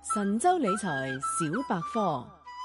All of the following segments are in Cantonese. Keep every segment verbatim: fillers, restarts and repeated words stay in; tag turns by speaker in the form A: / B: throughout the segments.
A: 神州理財小百科。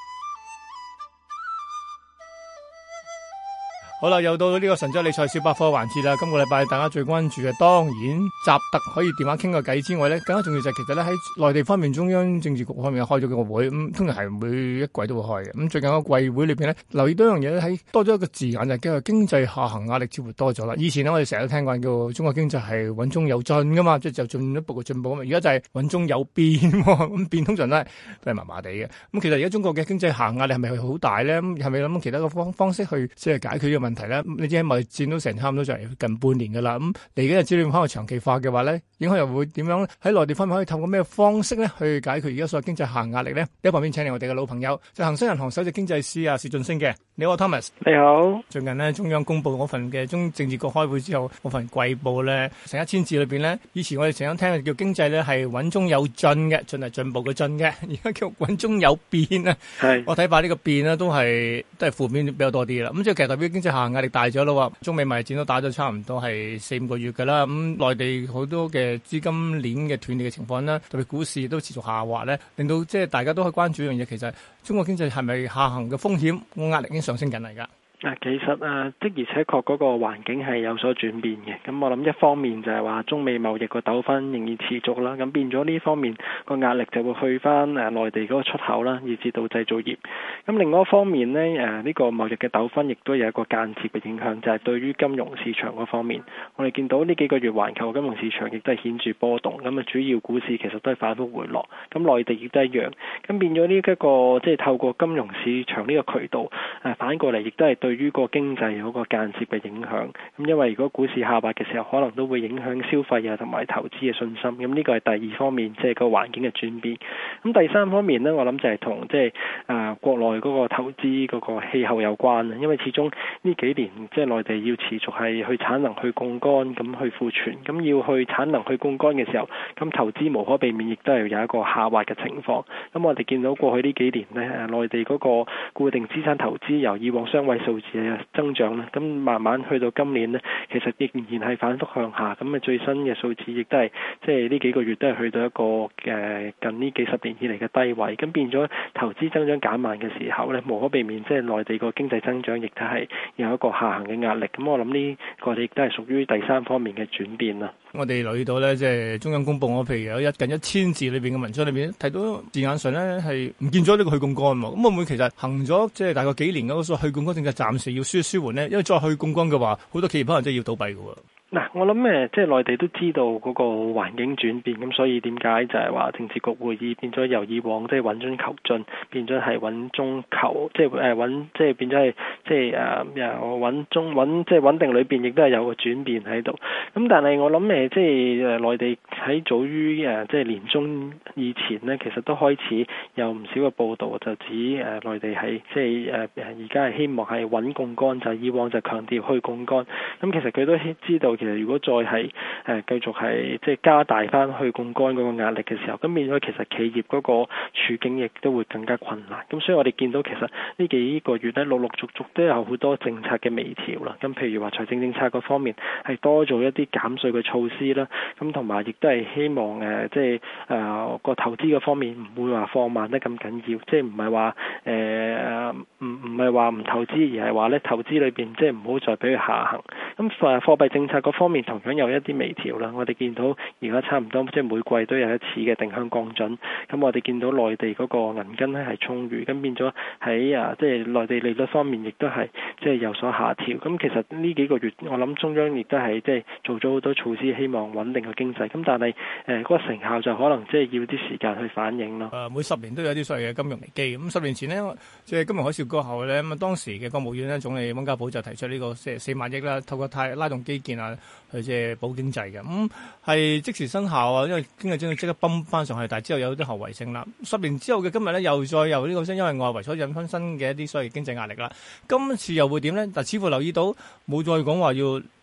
B: 好啦，又到呢個神州理財小百科環節啦。今個禮拜大家最關注嘅，當然習特可以電話傾個偈之外咧，更加重要就係其實咧喺內地方面，中央政治局方面開咗個會，咁、嗯、通常係每一季都會開嘅。咁、嗯、最近個季會裏邊咧，留意到一樣嘢咧，喺多咗一個字眼就叫經濟下行壓力似乎多咗啦。以前咧我哋成日都聽過叫中國經濟係穩中有進噶嘛，即係就進一步嘅進步啊嘛。而家就係穩中有變，咁變通常都係都係麻麻地嘅。咁、嗯、其實而家中國嘅經濟下行壓力係咪好大咧？係咪諗其他嘅方方式去即係解決呢個問題咧？你知喺貿易戰都成差唔多就係近半年噶啦。咁嚟緊嘅資料可能長期化嘅話咧，影響又會點樣咧？喺內地方面可以透過咩方式咧去解決而家所謂經濟下行壓力咧？喺旁邊請嚟我哋嘅老朋友，就恒生銀行首席經濟師啊薛俊昇嘅。你好 Thomas。
C: 你好。最
B: 近呢，中央公布嗰份嘅中政治局開會之後嗰份季報咧，成一千字裏邊咧，以前我哋成日聽嘅叫經濟咧係穩中有進嘅，進係進步嘅進嘅，而家叫穩中有變啊。係。我睇法呢個變咧都係都係負面比較多啲啦。咁即係其實代表經濟下行壓力大咗咯。中美貿易戰都打咗差唔多係四五個月㗎啦。咁、嗯、內地好多嘅資金鏈嘅斷裂嘅情況啦，特別股市都持續下滑咧，令到即係大家都可以關注一樣嘢，其實中國經濟係咪下行嘅風險個壓力已經上升緊嚟㗎？
C: 啊，其實啊，的而且確嗰個環境係有所轉變嘅。咁我諗一方面就係話中美貿易個糾紛仍然持續啦，咁變咗呢方面個壓力就會去翻誒內地嗰個出口啦，以至到製造業。咁另外一方面呢，誒呢個貿易嘅糾紛亦都有一個間接嘅影響，就係對於金融市場嗰方面，我哋見到呢幾個月環球金融市場亦都係顯著波動，咁啊主要股市其實都係反覆回落，咁內地亦都一樣。咁變咗呢一個即係透過金融市場呢個渠道誒反過嚟，亦都係對於個經濟有個間接嘅影響。咁因為如果股市下滑嘅時候，可能都會影響消費啊同埋投資嘅信心。咁呢個係第二方面，即係個環境嘅轉變。咁第三方面呢，我諗就係同即係誒國內嗰個投資嗰個氣候有關啊。因為始終呢幾年即係內地要持續係去產能去槓桿，咁去庫存，咁要去產能去槓桿嘅時候，咁投資無可避免亦都係有一個下滑嘅情況。咁我哋見到過去呢幾年呢，誒內地嗰個固定資產投資由以往雙位數字嘅增長咧，咁慢慢去到今年呢，其實仍然係反覆向下。咁啊最新嘅數字亦都係即係呢幾個月都係去到一個誒近呢幾十年以嚟嘅低位。咁變咗投資增長減慢嘅時候咧，無可避免即係內地個經濟增長亦都係有一個下行嘅壓力。咁我諗呢個亦都係屬於第三方面嘅轉變啦。
B: 我哋留意到咧，即係中央公布我譬如有一近一千字裏邊嘅文章裏邊睇到字眼上咧係唔見咗呢個去槓桿喎。咁會唔會其實行咗即係大概幾年嗰個去槓桿政策暫時要舒舒緩咧？因為再去槓桿嘅話，好多企業可能真係要倒閉㗎喎。
C: 嗱，我諗誒，即係內地都知道嗰個環境轉變，咁所以點解就係話政治局會議變咗由以往即係穩中求進，變咗係穩中求，即係誒穩，即係變咗係即係誒又穩中穩，即係穩定裏邊亦都係有個轉變喺度。咁但係我諗誒，即係誒內地喺早於誒即係年中以前呢，其實都開始有唔少嘅報導，就指誒內地係即係誒而家係希望係穩槓桿，就係以往就強調去槓桿。咁其實佢都知道。其實如果再係誒繼續係即係加大翻去槓桿嗰個壓力嘅時候，咁變咗其實企業嗰個處境亦都會更加困難。咁所以我哋見到其實呢幾個月咧，陸陸續續都有好多政策嘅微調啦。咁譬如話財政政策嗰方面係多做一啲減稅嘅措施啦。咁同埋亦都係希望誒即係誒個投資嗰方面唔會話放慢得咁緊要，即係唔係話誒唔唔係話唔投資，而係話咧投資裏邊即係唔好再俾佢下行。咁誒貨幣政策嗰方面同樣有一啲微調啦。我哋見到而家差唔多即係每季都有一次嘅定向降準。咁我哋見到內地嗰個銀根咧係充裕，咁變咗喺啊即係內地利率方面亦都係即係有所下調。咁其實呢幾個月我諗中央亦都係即係做咗好多措施，希望穩定個經濟。咁但係誒嗰個成效就可能即係要啲時間去反映咯。
B: 誒每十年都有啲所謂嘅金融危機。咁十年前呢，即係金融海嘯過後咧，咁啊當時嘅國務院咧總理溫家寶就提出呢個四四萬億啦，透過太拉動基建啊，去即係保經濟嘅。咁、嗯、係即時生效啊，因為經濟真係即刻泵翻上去，但係之後有啲後遺性啦。十年之後嘅今日咧，又再由呢個因為外圍所引發新嘅一啲所謂經濟壓力啦。今次又會點咧？但似乎留意到冇再講話要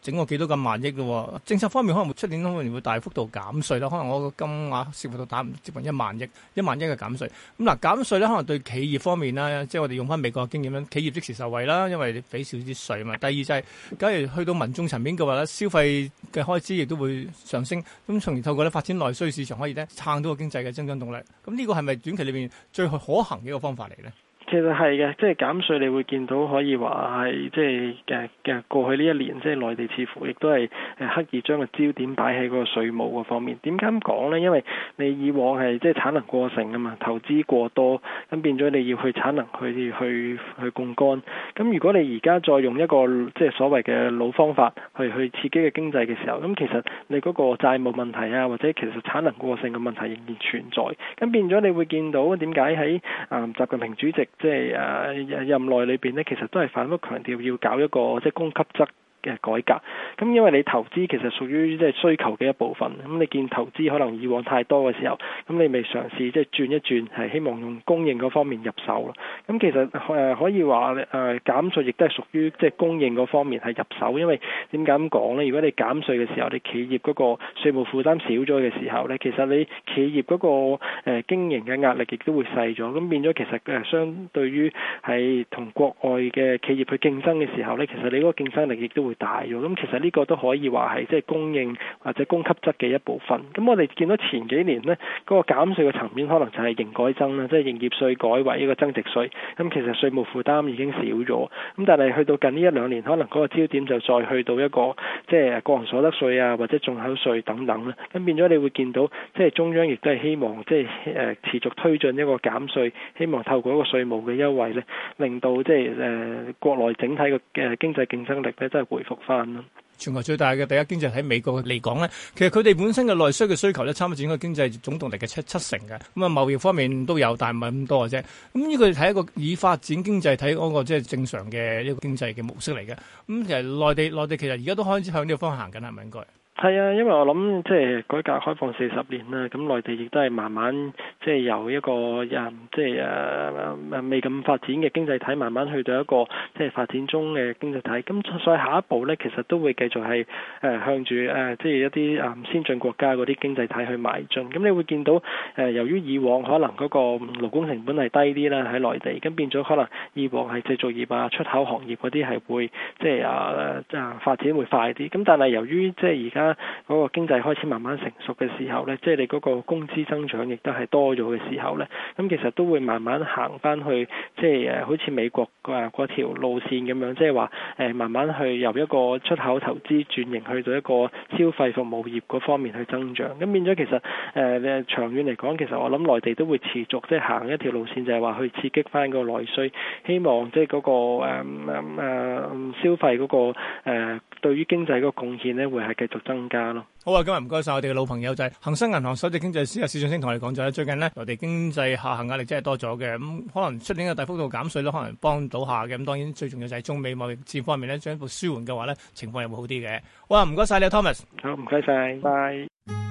B: 整個幾多咁萬億嘅，政策方面可能出年可能會大幅度減稅啦，可能我個金額涉及到打接近一萬億，一萬億嘅減稅。咁嗱減稅咧，可能對企業方面啦，即係我哋用翻美國嘅經驗啦，企業即時受惠啦，因為你俾少啲稅嘛。第二就係、是，假如去到民眾層面嘅話咧，消費嘅開支亦都會上升，咁從而透過咧發展內需市場，可以咧撐到個經濟嘅增長動力。咁呢個係咪短期裏邊最可行嘅一個方法嚟咧？
C: 其實係嘅，即係減稅，你會見到可以話係即係嘅嘅過去呢一年，即係內地似乎亦都係誒刻意將個焦點擺喺嗰個稅務嗰方面。點解咁講呢？因為你以往係即係產能過剩啊嘛，投資過多，咁變咗你要去產能去去去槓桿。咁如果你而家再用一個即係所謂嘅老方法去去刺激嘅經濟嘅時候，咁其實你嗰個債務問題啊，或者其實產能過剩嘅問題仍然存在。咁變咗你會見到點解喺啊習近平主席即係誒任內裏邊咧，其實都係反覆強調要搞一個即係供給側嘅改革。咁因為你投資其實屬於即係需求嘅一部分，咁你見投資可能以往太多嘅時候，咁你未嘗試即係轉一轉，係希望用供應嗰方面入手咯。咁其實誒可以話誒減稅亦都係屬於即係供應嗰方面係入手，因為點解咁講呢？如果你減稅嘅時候，你企業嗰個稅務負擔少咗嘅時候呢，其實你企業嗰個誒經營嘅壓力亦都會細咗，咁變咗其實誒相對於係同國外嘅企業去競爭嘅時候呢，其實你嗰個競爭力亦都會大咗。咁其實呢個都可以話係即係供應或者供給側嘅一部分。咁我哋見到前幾年呢，嗰個減稅嘅層面可能就係營改增啦，即係營業稅改為一個增值稅。咁其實稅務負擔已經少咗。咁但係去到近呢一兩年，可能嗰個焦點就再去到一個即係個人所得稅啊，或者進口稅等等啦。咁變咗你會見到即係中央亦都係希望即係誒持續推進一個減稅，希望透過一個稅務嘅優惠咧，令到即係誒國內整體嘅誒經濟競爭力咧，真係回復翻咯。
B: 全球最大嘅第一經濟喺美國嚟講咧，其實佢哋本身嘅內需嘅需求咧，差唔多佔個經濟總動力嘅七七成嘅。咁啊，貿易方面都有，但係唔係咁多嘅啫。咁呢個睇一個以發展經濟睇嗰個即係正常嘅一個經濟嘅模式嚟嘅。咁其實內地內地其實而家都開始向呢個方向行緊，係咪應該？
C: 係啊，因為我諗即係改革開放四十年啦，咁內地亦都係慢慢即係由一個誒即係誒未咁發展嘅經濟體，慢慢去到一個即係發展中嘅經濟體。咁所以下一步咧，其實都會繼續係誒向住誒即係一啲誒先進國家嗰啲經濟體去邁進。咁你會見到誒由於以往可能嗰個勞工成本係低啲啦喺內地，咁變咗可能以往係製造業啊、出口行業嗰啲係會即係啊啊發展會快啲。咁但係由於即係而家嗰個經濟開始慢慢成熟嘅時候咧，即係你嗰個工資增長亦都係多咗嘅時候咧，咁其實都會慢慢行翻去，即係誒好似美國啊嗰條路線咁樣，即係話誒慢慢去由一個出口投資轉型去到一個消費服務業嗰方面去增長。咁變咗其實誒、呃、長遠嚟講，其實我諗內地都會持續即係行一條路線，就係話去刺激翻個內需，希望即係嗰個誒誒、呃、消費嗰個誒、呃、對於經濟嗰個貢獻咧，會係繼續增加咯。
B: 好啊，今日唔該晒我哋嘅老朋友就係恒生銀行首席經濟師啊史俊升同我哋講咗咧，最近咧內地經濟下行壓力真係多咗嘅，咁、嗯、可能出年嘅大幅度減稅咧，可能幫到下嘅。咁當然最重要就係中美貿易戰方面咧，進一步舒緩嘅話咧，情況又會好啲嘅。好啊，唔該晒你 Thomas。
C: 好，唔該晒，拜。